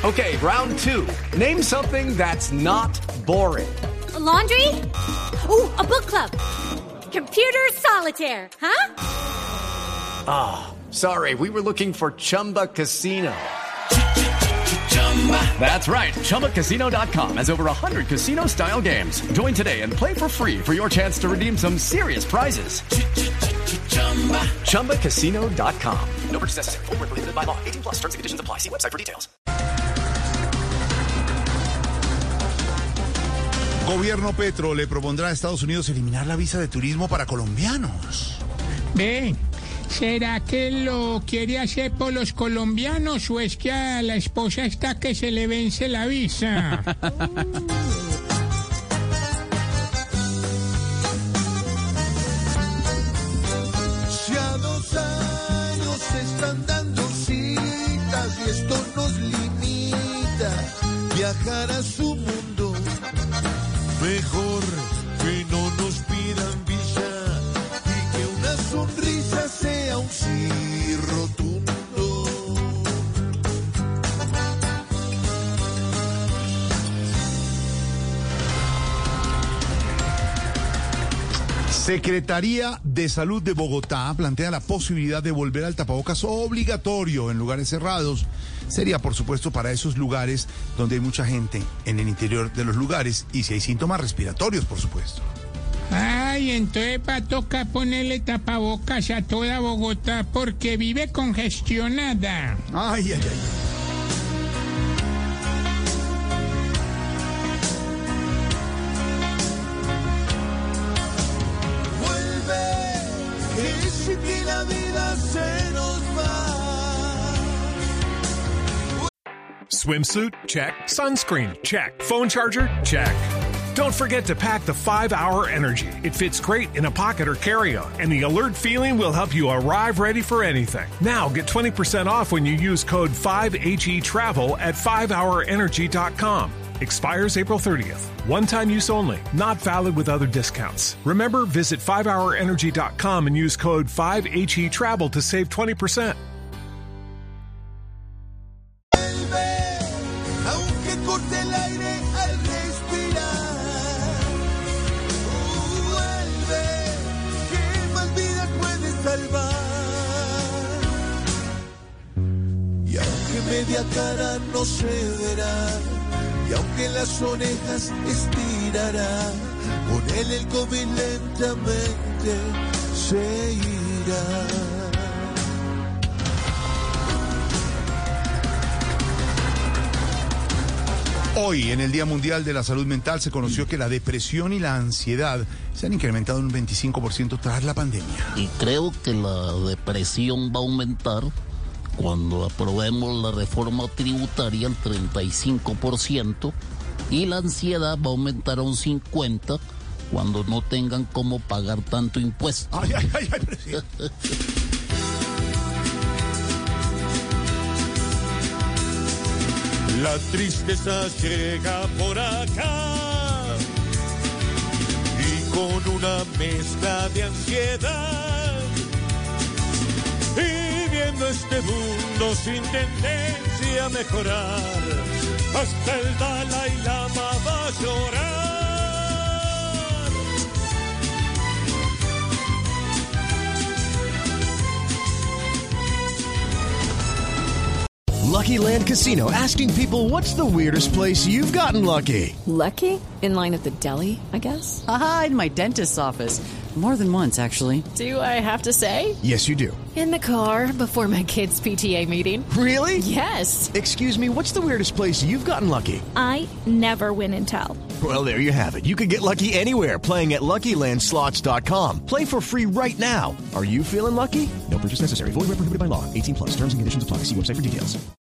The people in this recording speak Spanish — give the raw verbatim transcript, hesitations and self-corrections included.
Okay, round two. Name something that's not boring. A laundry? Ooh, a book club. Computer solitaire, huh? Ah, oh, sorry, we were looking for Chumba Casino. That's right, Chumba Casino dot com has over one hundred casino-style games. Join today and play for free for your chance to redeem some serious prizes. Chumba Casino dot com. No purchase necessary. Void where prohibited by law. eighteen plus terms and conditions apply. See website for details. Gobierno Petro le propondrá a Estados Unidos eliminar la visa de turismo para colombianos. Ve, ¿será que lo quiere hacer por los colombianos o es que a la esposa está que se le vence la visa? Si a dos años se están dando citas y esto nos limita viajar a su mundo, mejor que no nos pidan visa y que una sonrisa sea un sí rotundo. Secretaría de Salud de Bogotá plantea la posibilidad de volver al tapabocas obligatorio en lugares cerrados. Sería, por supuesto, para esos lugares donde hay mucha gente en el interior de los lugares y si hay síntomas respiratorios, por supuesto. Ay, entonces va a tocar ponerle tapabocas a toda Bogotá porque vive congestionada. Ay, ay, ay. Vuelve, que la vida se nos va. Swimsuit? Check. Sunscreen? Check. Phone charger? Check. Don't forget to pack the five hour Energy. It fits great in a pocket or carry-on, and the alert feeling will help you arrive ready for anything. Now get twenty percent off when you use code five H E TRAVEL at five hour energy dot com. Expires April thirtieth. One-time use only. Not valid with other discounts. Remember, visit five hour energy dot com and use code five H E TRAVEL to save twenty percent. Aunque corte el aire al respirar, vuelve, que más vidas puedes salvar. Y aunque media cara no se verá, y aunque las orejas estirará, con él el COVID lentamente se irá. Hoy, en el Día Mundial de la Salud Mental, se conoció que la depresión y la ansiedad se han incrementado en un veinticinco por ciento tras la pandemia. Y creo que la depresión va a aumentar cuando aprobemos la reforma tributaria al treinta y cinco por ciento y la ansiedad va a aumentar a un cincuenta por ciento cuando no tengan cómo pagar tanto impuesto. Ay, ay, ay, ay, presidente. La tristeza llega por acá y con una mezcla de ansiedad y viendo este mundo sin tendencia a mejorar, hasta el Dalai Lama va a llorar. Lucky Land Casino, asking people, what's the weirdest place you've gotten lucky? Lucky? In line at the deli, I guess? Aha, in my dentist's office. More than once, actually. Do I have to say? Yes, you do. In the car before my kids' P T A meeting. Really? Yes. Excuse me, what's the weirdest place you've gotten lucky? I never win and tell. Well, there you have it. You can get lucky anywhere, playing at Lucky Land Slots dot com. Play for free right now. Are you feeling lucky? No purchase necessary. Void where prohibited by law. eighteen plus. Terms and conditions apply. See website for details.